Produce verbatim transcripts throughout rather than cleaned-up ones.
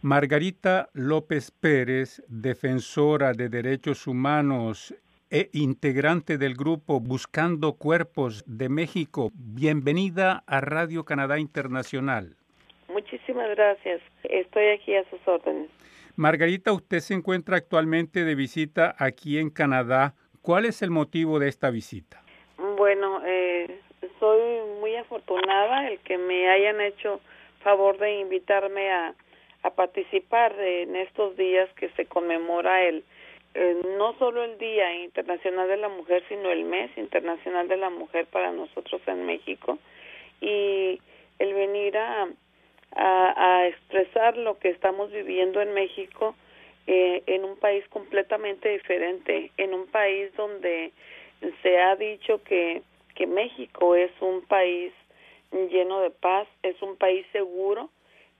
Margarita López Pérez, defensora de derechos humanos e integrante del grupo Buscando Cuerpos de México. Bienvenida a Radio Canadá Internacional. Muchísimas gracias. Estoy aquí a sus órdenes. Margarita, usted se encuentra actualmente de visita aquí en Canadá. ¿Cuál es el motivo de esta visita? Bueno, eh, soy muy afortunada el que me hayan hecho favor de invitarme a a participar en estos días que se conmemora el eh, no solo el Día Internacional de la Mujer, sino el Mes Internacional de la Mujer para nosotros en México, y el venir a, a, a expresar lo que estamos viviendo en México eh, en un país completamente diferente, en un país donde se ha dicho que, que México es un país lleno de paz, es un país seguro.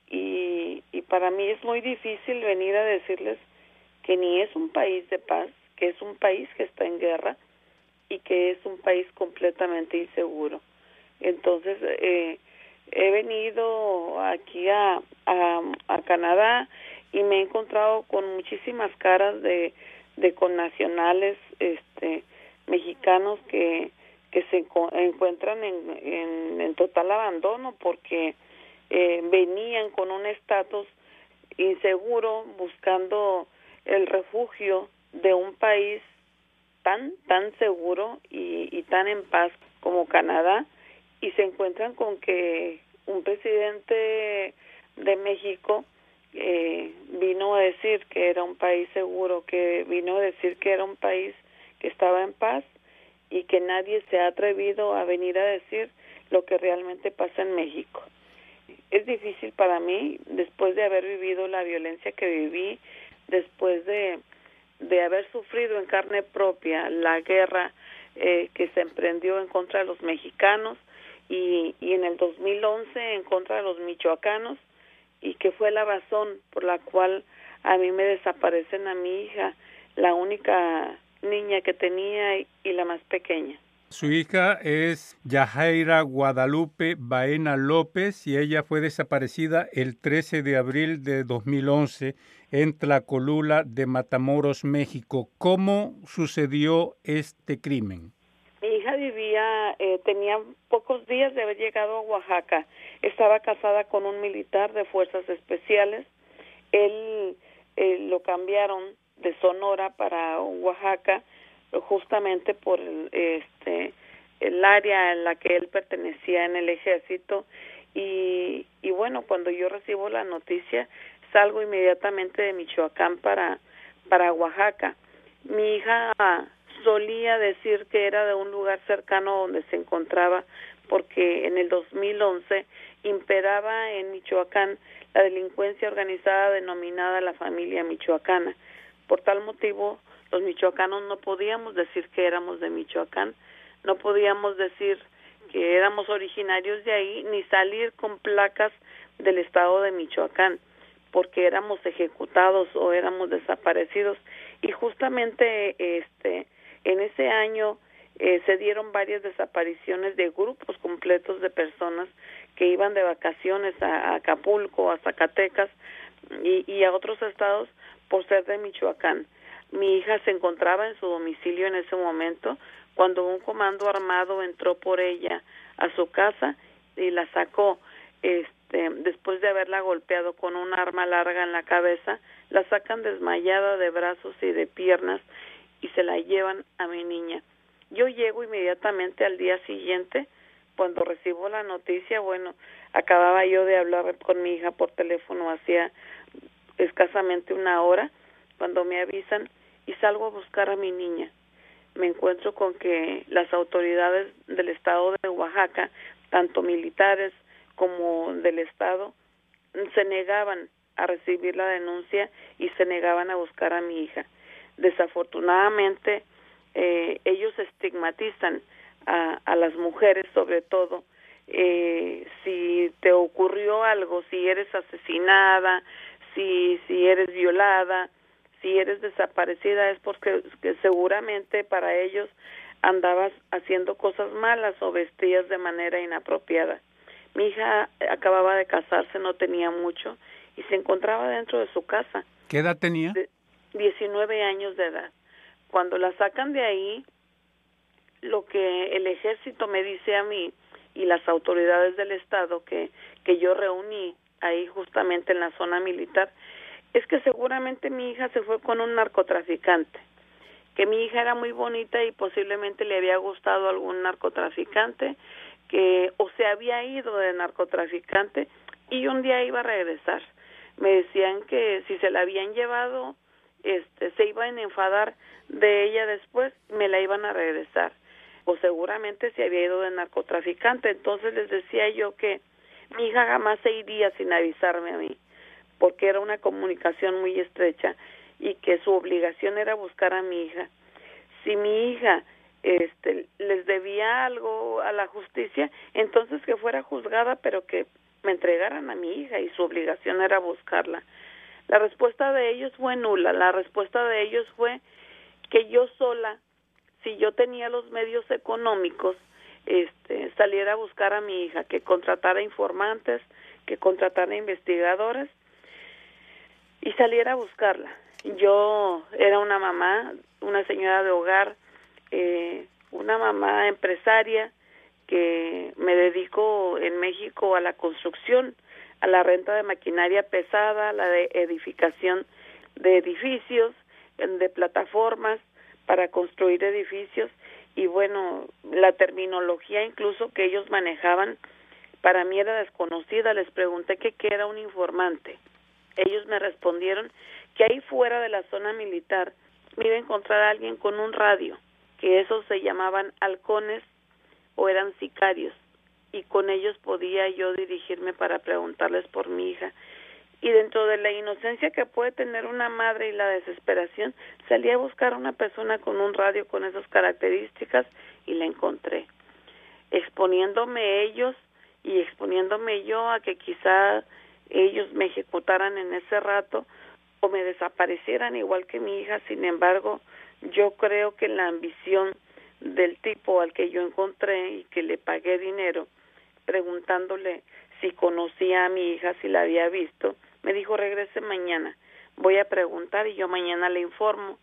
Y, y para mí es muy difícil venir a decirles que ni es un país de paz, que es un país que está en guerra y que es un país completamente inseguro. Entonces, eh, he venido aquí a, a, a Canadá y me he encontrado con muchísimas caras de, de connacionales este, mexicanos que, que se encuentran en, en, en total abandono porque Eh, venían con un estatus inseguro buscando el refugio de un país tan tan seguro y, y tan en paz como Canadá, y se encuentran con que un presidente de México eh, vino a decir que era un país seguro, que vino a decir que era un país que estaba en paz y que nadie se ha atrevido a venir a decir lo que realmente pasa en México. Es difícil para mí, después de haber vivido la violencia que viví, después de, de haber sufrido en carne propia la guerra eh, que se emprendió en contra de los mexicanos y, y en el dos mil once en contra de los michoacanos, y que fue la razón por la cual a mí me desaparecen a mi hija, la única niña que tenía y, y la más pequeña. Su hija es Yajaira Guadalupe Baena López y ella fue desaparecida el trece de abril de dos mil once en Tlacolula de Matamoros, México. ¿Cómo sucedió este crimen? Mi hija vivía, eh, tenía pocos días de haber llegado a Oaxaca. Estaba casada con un militar de fuerzas especiales. Él eh, lo cambiaron de Sonora para Oaxaca justamente por el, este el área en la que él pertenecía en el ejército, y, y bueno, cuando yo recibo la noticia salgo inmediatamente de Michoacán para para Oaxaca. Mi hija solía decir que era de un lugar cercano donde se encontraba porque en el dos mil once imperaba en Michoacán la delincuencia organizada denominada la familia michoacana. Por tal motivo, los michoacanos no podíamos decir que éramos de Michoacán, no podíamos decir que éramos originarios de ahí, ni salir con placas del estado de Michoacán, porque éramos ejecutados o éramos desaparecidos. Y justamente este en ese año eh, se dieron varias desapariciones de grupos completos de personas que iban de vacaciones a, a Acapulco, a Zacatecas y, y a otros estados por ser de Michoacán. Mi hija se encontraba en su domicilio en ese momento cuando un comando armado entró por ella a su casa y la sacó. Este, después de haberla golpeado con un arma larga en la cabeza, la sacan desmayada de brazos y de piernas y se la llevan a mi niña. Yo llego inmediatamente al día siguiente. Cuando recibo la noticia, bueno, acababa yo de hablar con mi hija por teléfono hacía escasamente una hora, cuando me avisan, y salgo a buscar a mi niña. Me encuentro con que las autoridades del estado de Oaxaca, tanto militares como del estado, se negaban a recibir la denuncia y se negaban a buscar a mi hija. Desafortunadamente, eh, ellos estigmatizan a, a las mujeres, sobre todo, eh, si te ocurrió algo, si eres asesinada, si, si eres violada, si eres desaparecida, es porque que seguramente para ellos andabas haciendo cosas malas o vestías de manera inapropiada. Mi hija acababa de casarse, no tenía mucho, y se encontraba dentro de su casa. ¿Qué edad tenía? De diecinueve años de edad. Cuando la sacan de ahí, lo que el ejército me dice a mí y las autoridades del estado que, que yo reuní ahí justamente en la zona militar, es que seguramente mi hija se fue con un narcotraficante, que mi hija era muy bonita y posiblemente le había gustado algún narcotraficante, que o se había ido de narcotraficante y un día iba a regresar. Me decían que si se la habían llevado, este, se iban a enfadar de ella después, me la iban a regresar, o seguramente se había ido de narcotraficante. Entonces les decía yo que mi hija jamás se iría sin avisarme a mí, porque era una comunicación muy estrecha y que su obligación era buscar a mi hija. Si mi hija este, les debía algo a la justicia, entonces que fuera juzgada, pero que me entregaran a mi hija, y su obligación era buscarla. La respuesta de ellos fue nula. La respuesta de ellos fue que yo sola, si yo tenía los medios económicos, este, saliera a buscar a mi hija, que contratara informantes, que contratara investigadores y saliera a buscarla. Yo era una mamá, una señora de hogar, eh, una mamá empresaria que me dedico en México a la construcción, a la renta de maquinaria pesada, a la de edificación de edificios, de plataformas para construir edificios, y bueno, la terminología incluso que ellos manejaban para mí era desconocida. Les pregunté que qué era un informante. Ellos me respondieron que ahí fuera de la zona militar me iba a encontrar a alguien con un radio, que esos se llamaban halcones o eran sicarios, y con ellos podía yo dirigirme para preguntarles por mi hija. Y dentro de la inocencia que puede tener una madre y la desesperación, salí a buscar a una persona con un radio con esas características y la encontré, exponiéndome ellos y exponiéndome yo a que quizá ellos me ejecutaran en ese rato o me desaparecieran igual que mi hija. Sin embargo, yo creo que la ambición del tipo al que yo encontré y que le pagué dinero, preguntándole si conocía a mi hija, si la había visto, me dijo: regrese mañana, voy a preguntar y yo mañana le informo.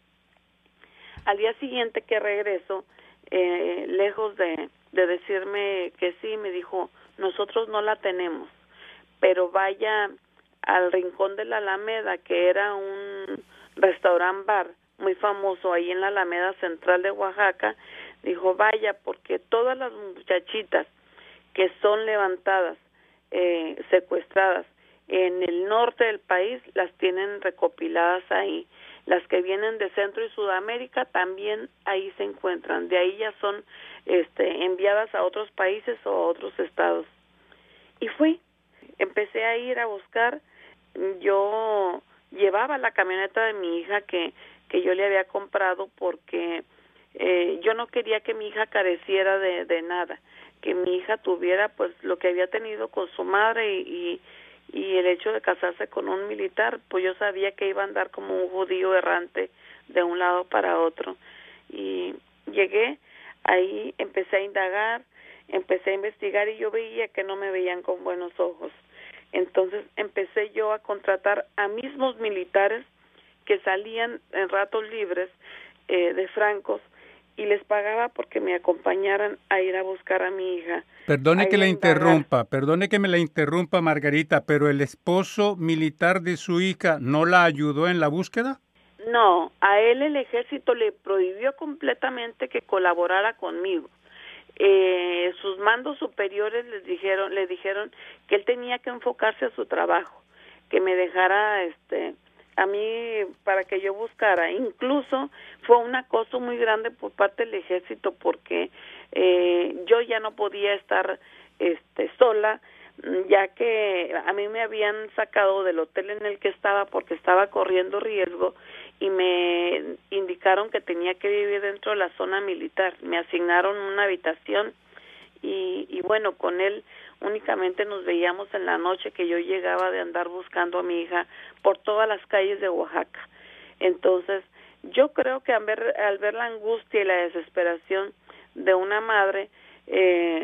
Al día siguiente que regreso, eh, lejos de, de decirme que sí, me dijo: nosotros no la tenemos, pero vaya al Rincón de la Alameda, que era un restaurant bar muy famoso ahí en la Alameda Central de Oaxaca. Dijo: vaya, porque todas las muchachitas que son levantadas, eh, secuestradas en el norte del país, las tienen recopiladas ahí. Las que vienen de Centro y Sudamérica también ahí se encuentran. De ahí ya son este, enviadas a otros países o a otros estados. Y fui, empecé a ir a buscar. Yo llevaba la camioneta de mi hija que, que yo le había comprado porque eh, yo no quería que mi hija careciera de, de nada, que mi hija tuviera pues lo que había tenido con su madre, y, y, y el hecho de casarse con un militar, pues yo sabía que iba a andar como un judío errante de un lado para otro. Y llegué ahí, empecé a indagar, empecé a investigar, y yo veía que no me veían con buenos ojos. Entonces empecé yo a contratar a mismos militares que salían en ratos libres eh, de francos, y les pagaba porque me acompañaran a ir a buscar a mi hija. Perdone que la interrumpa, perdone que me la interrumpa, Margarita, pero el esposo militar de su hija ¿no la ayudó en la búsqueda? No, a él el ejército le prohibió completamente que colaborara conmigo. Eh, sus mandos superiores les dijeron, le dijeron que él tenía que enfocarse a su trabajo, que me dejara este a mí para que yo buscara. Incluso fue un acoso muy grande por parte del ejército, porque eh, yo ya no podía estar este sola, ya que a mí me habían sacado del hotel en el que estaba porque estaba corriendo riesgo, y me indicaron que tenía que vivir dentro de la zona militar. Me asignaron una habitación y, y bueno, con él únicamente nos veíamos en la noche que yo llegaba de andar buscando a mi hija por todas las calles de Oaxaca. Entonces, yo creo que al ver, al ver la angustia y la desesperación de una madre, eh,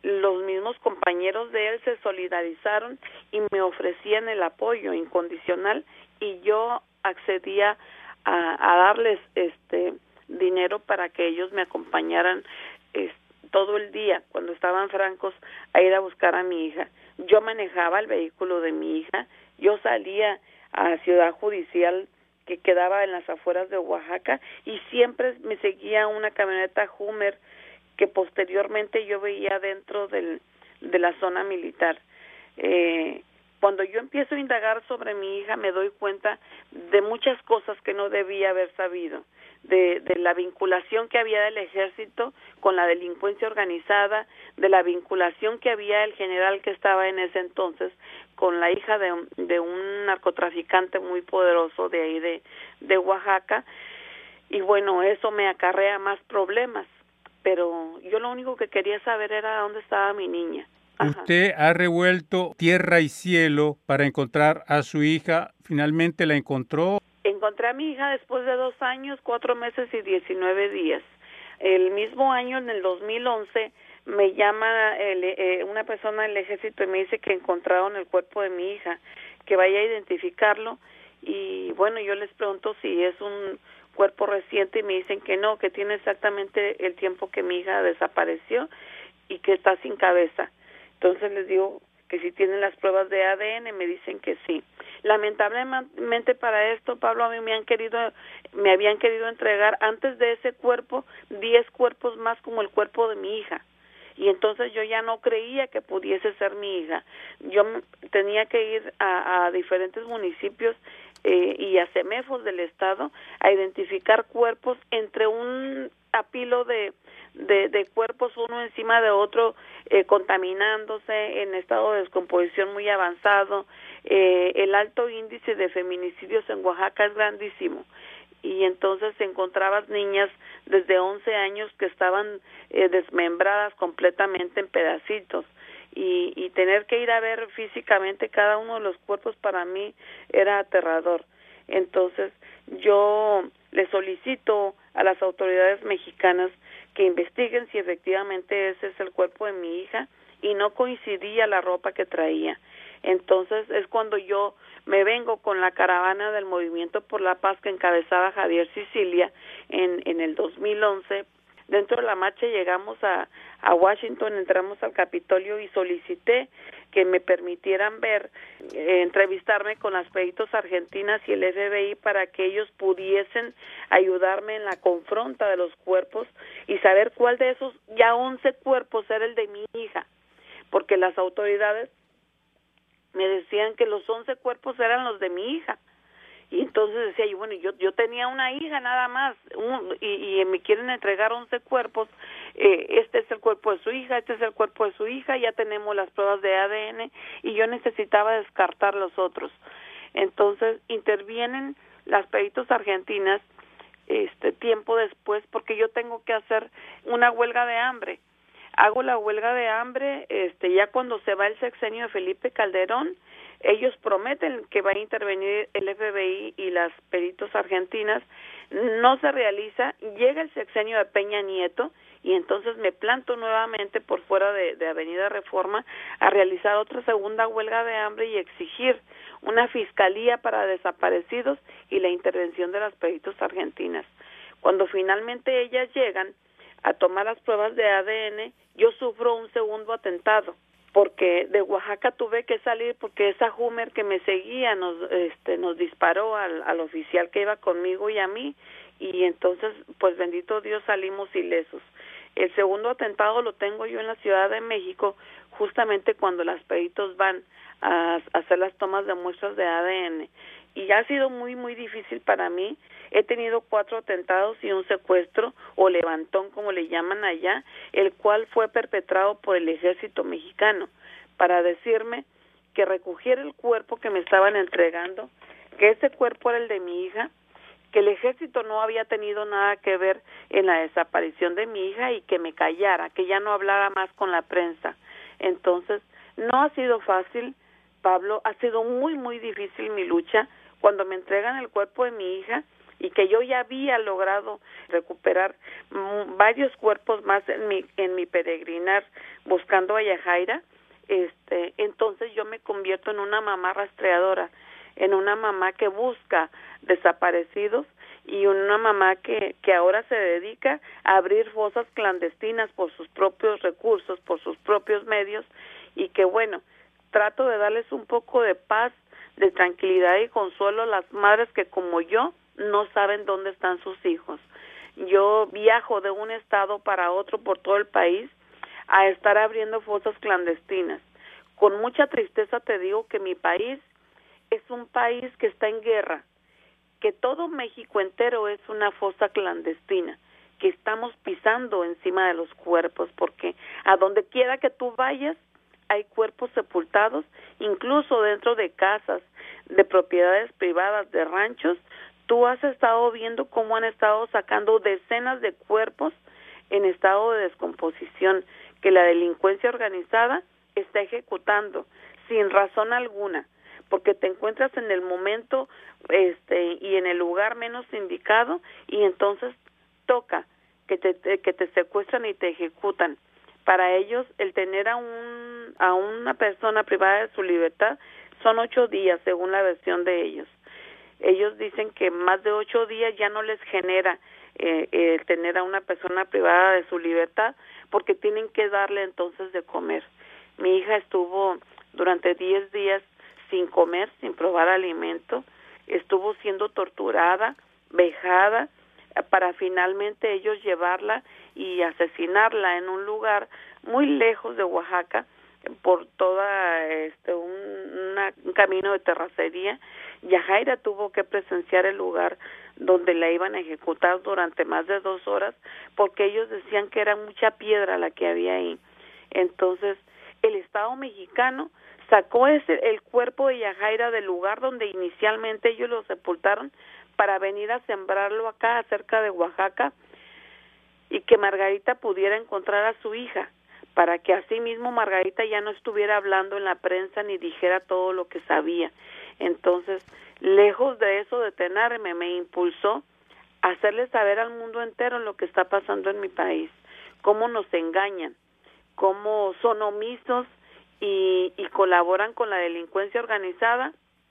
los mismos compañeros de él se solidarizaron y me ofrecían el apoyo incondicional y yo accedía a, a darles este dinero para que ellos me acompañaran este, todo el día cuando estaban francos a ir a buscar a mi hija. Yo manejaba el vehículo de mi hija, yo salía a Ciudad Judicial que quedaba en las afueras de Oaxaca y siempre me seguía una camioneta Hummer que posteriormente yo veía dentro del, de la zona militar. Eh, cuando yo empiezo a indagar sobre mi hija me doy cuenta de muchas cosas que no debía haber sabido, de, de la vinculación que había del ejército con la delincuencia organizada, de la vinculación que había el general que estaba en ese entonces con la hija de, de un narcotraficante muy poderoso de ahí de, de Oaxaca, y bueno, eso me acarrea más problemas, pero yo lo único que quería saber era dónde estaba mi niña. Ajá. Usted ha revuelto tierra y cielo para encontrar a su hija. ¿Finalmente la encontró? Encontré a mi hija después de dos años, cuatro meses y diecinueve días. El mismo año, en el dos mil once, me llama el, eh, una persona del ejército y me dice que encontraron el cuerpo de mi hija, que vaya a identificarlo. Y bueno, yo les pregunto si es un cuerpo reciente y me dicen que no, que tiene exactamente el tiempo que mi hija desapareció y que está sin cabeza. Entonces les digo que si tienen las pruebas de A D N, me dicen que sí. Lamentablemente para esto, Pablo, a mí me han querido, me habían querido entregar antes de ese cuerpo diez cuerpos más como el cuerpo de mi hija. Y entonces yo ya no creía que pudiese ser mi hija. Yo tenía que ir a, a diferentes municipios eh, y a CEMEFOS del estado a identificar cuerpos entre un apilo de, de, de cuerpos uno encima de otro, eh, contaminándose en estado de descomposición muy avanzado. Eh, el alto índice de feminicidios en Oaxaca es grandísimo. Y entonces encontrabas niñas desde once años que estaban eh, desmembradas completamente en pedacitos. Y, y tener que ir a ver físicamente cada uno de los cuerpos para mí era aterrador. Entonces yo le solicito a las autoridades mexicanas que investiguen si efectivamente ese es el cuerpo de mi hija y no coincidía la ropa que traía. Entonces es cuando yo me vengo con la caravana del Movimiento por la Paz que encabezaba Javier Sicilia en, en el dos mil once. Dentro de la marcha llegamos a, a Washington, entramos al Capitolio y solicité que me permitieran ver, eh, entrevistarme con las peritos argentinas y el F B I para que ellos pudiesen ayudarme en la confronta de los cuerpos y saber cuál de esos ya once cuerpos era el de mi hija, porque las autoridades me decían que los once cuerpos eran los de mi hija. Y entonces decía yo, bueno, yo yo tenía una hija nada más, un, y, y me quieren entregar once cuerpos, eh, este es el cuerpo de su hija, este es el cuerpo de su hija, ya tenemos las pruebas de A D N, y yo necesitaba descartar los otros. Entonces intervienen las peritos argentinas este tiempo después, porque yo tengo que hacer una huelga de hambre. Hago la huelga de hambre este ya cuando se va el sexenio de Felipe Calderón. Ellos prometen que va a intervenir el F B I y las peritos argentinas, no se realiza, llega el sexenio de Peña Nieto y entonces me planto nuevamente por fuera de, de Avenida Reforma a realizar otra segunda huelga de hambre y exigir una fiscalía para desaparecidos y la intervención de las peritos argentinas. Cuando finalmente ellas llegan a tomar las pruebas de A D N, yo sufro un segundo atentado, porque de Oaxaca tuve que salir porque esa Hummer que me seguía nos este nos disparó al, al oficial que iba conmigo y a mí, y entonces pues bendito Dios salimos ilesos. El segundo atentado lo tengo yo en la Ciudad de México, justamente cuando las peritos van a, a hacer las tomas de muestras de A D N, y ha sido muy muy difícil para mí. He tenido cuatro atentados y un secuestro o levantón, como le llaman allá, el cual fue perpetrado por el ejército mexicano para decirme que recogiera el cuerpo que me estaban entregando, que ese cuerpo era el de mi hija, que el ejército no había tenido nada que ver en la desaparición de mi hija y que me callara, que ya no hablara más con la prensa. Entonces, no ha sido fácil, Pablo, ha sido muy, muy difícil mi lucha. Cuando me entregan el cuerpo de mi hija y que yo ya había logrado recuperar m- varios cuerpos más en mi en mi peregrinar buscando a Yajaira, este, entonces yo me convierto en una mamá rastreadora, en una mamá que busca desaparecidos y una mamá que, que ahora se dedica a abrir fosas clandestinas por sus propios recursos, por sus propios medios, y que bueno, trato de darles un poco de paz, de tranquilidad y consuelo a las madres que como yo no saben dónde están sus hijos. Yo viajo de un estado para otro por todo el país a estar abriendo fosas clandestinas. Con mucha tristeza te digo que mi país es un país que está en guerra, que todo México entero es una fosa clandestina, que estamos pisando encima de los cuerpos, porque a donde quiera que tú vayas hay cuerpos sepultados, incluso dentro de casas, de propiedades privadas, de ranchos. Tú has estado viendo cómo han estado sacando decenas de cuerpos en estado de descomposición, que la delincuencia organizada está ejecutando sin razón alguna, porque te encuentras en el momento este y en el lugar menos indicado y entonces toca que te, te que te secuestran y te ejecutan. Para ellos el tener a un a una persona privada de su libertad son ocho días según la versión de ellos. Ellos dicen que más de ocho días ya no les genera eh, eh, tener a una persona privada de su libertad porque tienen que darle entonces de comer. Mi hija estuvo durante diez días sin comer, sin probar alimento, estuvo siendo torturada, vejada, para finalmente ellos llevarla y asesinarla en un lugar muy lejos de Oaxaca, por toda este un, una, un camino de terracería. Yajaira tuvo que presenciar el lugar donde la iban a ejecutar durante más de dos horas, porque ellos decían que era mucha piedra la que había ahí. Entonces, el Estado mexicano sacó ese, el cuerpo de Yajaira del lugar donde inicialmente ellos lo sepultaron para venir a sembrarlo acá, cerca de Oaxaca, y que Margarita pudiera encontrar a su hija, para que así mismo Margarita ya no estuviera hablando en la prensa ni dijera todo lo que sabía. Entonces, lejos de eso detenerme, me impulsó a hacerle saber al mundo entero lo que está pasando en mi país, cómo nos engañan, cómo son omisos y, y colaboran con la delincuencia organizada,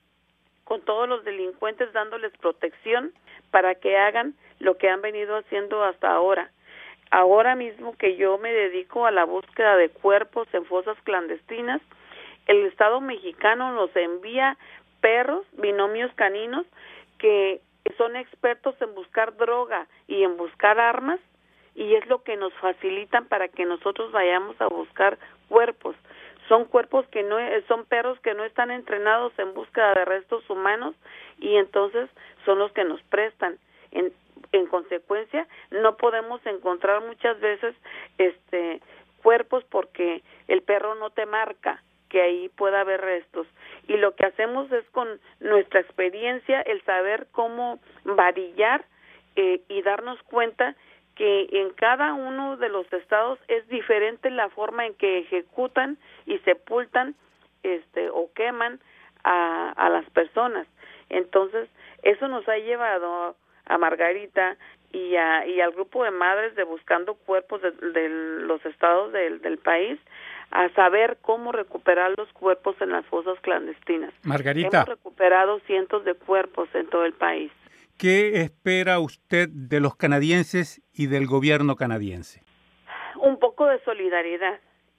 con todos los delincuentes dándoles protección para que hagan lo que han venido haciendo hasta ahora. Ahora mismo que yo me dedico a la búsqueda de cuerpos en fosas clandestinas, el Estado mexicano nos envía perros, binomios caninos, que son expertos en buscar droga y en buscar armas, y es lo que nos facilitan para que nosotros vayamos a buscar cuerpos. Son cuerpos que no, son perros que no están entrenados en búsqueda de restos humanos y entonces son los que nos prestan. En, en consecuencia, no podemos encontrar muchas veces este cuerpos porque el perro no te marca que ahí pueda haber restos. Y lo que hacemos es con nuestra experiencia el saber cómo varillar eh, y darnos cuenta que en cada uno de los estados es diferente la forma en que ejecutan y sepultan este o queman a, a las personas. Entonces, eso nos ha llevado a Margarita y, a, y al grupo de madres de Buscando Cuerpos de, de los estados del, del país a saber cómo recuperar los cuerpos en las fosas clandestinas. Margarita, hemos recuperado cientos de cuerpos en todo el país. ¿Qué espera usted de los canadienses y del gobierno canadiense? Un poco de solidaridad.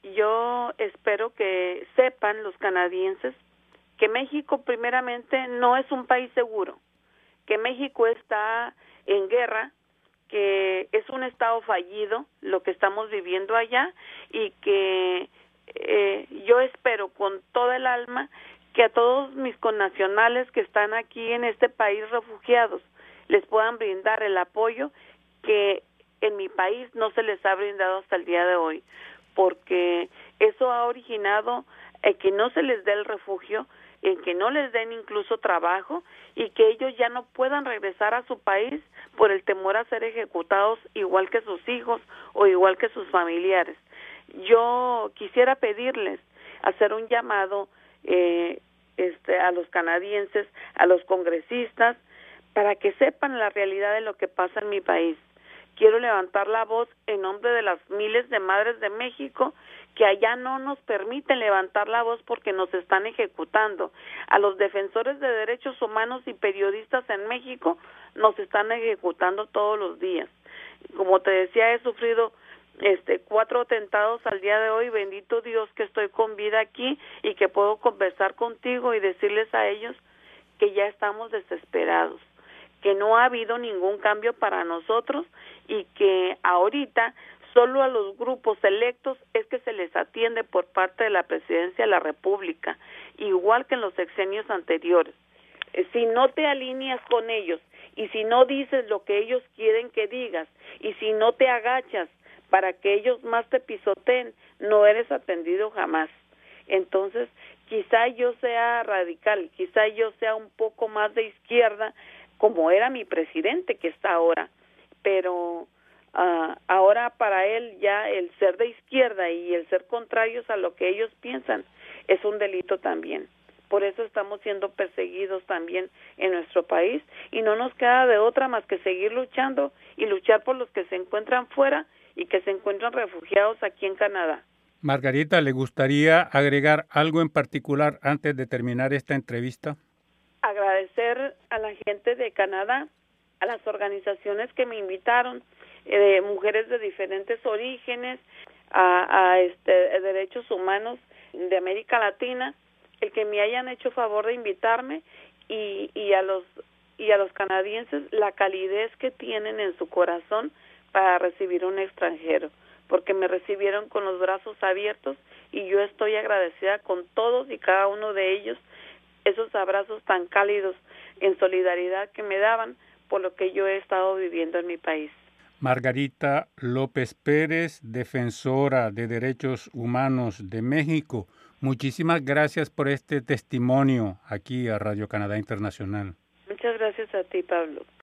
Yo espero que sepan los canadienses que México primeramente no es un país seguro, que México está en guerra, que es un estado fallido lo que estamos viviendo allá y que eh, yo espero con toda el alma que a todos mis connacionales que están aquí en este país refugiados les puedan brindar el apoyo que en mi país no se les ha brindado hasta el día de hoy, porque eso ha originado eh, que no se les dé el refugio, en que no les den incluso trabajo y que ellos ya no puedan regresar a su país por el temor a ser ejecutados igual que sus hijos o igual que sus familiares. Yo quisiera pedirles, hacer un llamado eh, este, a los canadienses, a los congresistas, para que sepan la realidad de lo que pasa en mi país. Quiero levantar la voz en nombre de las miles de madres de México que allá no nos permiten levantar la voz porque nos están ejecutando. A los defensores de derechos humanos y periodistas en México nos están ejecutando todos los días. Como te decía, he sufrido este cuatro atentados al día de hoy. Bendito Dios que estoy con vida aquí y que puedo conversar contigo y decirles a ellos que ya estamos desesperados, que no ha habido ningún cambio para nosotros y que ahorita solo a los grupos electos es que se les atiende por parte de la Presidencia de la República, igual que en los sexenios anteriores. Si no te alineas con ellos y si no dices lo que ellos quieren que digas y si no te agachas para que ellos más te pisoteen, no eres atendido jamás. Entonces, quizá yo sea radical, quizá yo sea un poco más de izquierda, como era mi presidente que está ahora, pero uh, ahora para él ya el ser de izquierda y el ser contrarios a lo que ellos piensan es un delito también. Por eso estamos siendo perseguidos también en nuestro país y no nos queda de otra más que seguir luchando y luchar por los que se encuentran fuera y que se encuentran refugiados aquí en Canadá. Margarita, ¿le gustaría agregar algo en particular antes de terminar esta entrevista? Agradecer a la gente de Canadá, a las organizaciones que me invitaron, eh, mujeres de diferentes orígenes, a, a este, derechos humanos de América Latina, el que me hayan hecho favor de invitarme y, y a los y a los canadienses la calidez que tienen en su corazón para recibir un extranjero, porque me recibieron con los brazos abiertos y yo estoy agradecida con todos y cada uno de ellos, esos abrazos tan cálidos en solidaridad que me daban por lo que yo he estado viviendo en mi país. Margarita López Pérez, defensora de derechos humanos de México, muchísimas gracias por este testimonio aquí a Radio Canadá Internacional. Muchas gracias a ti, Pablo.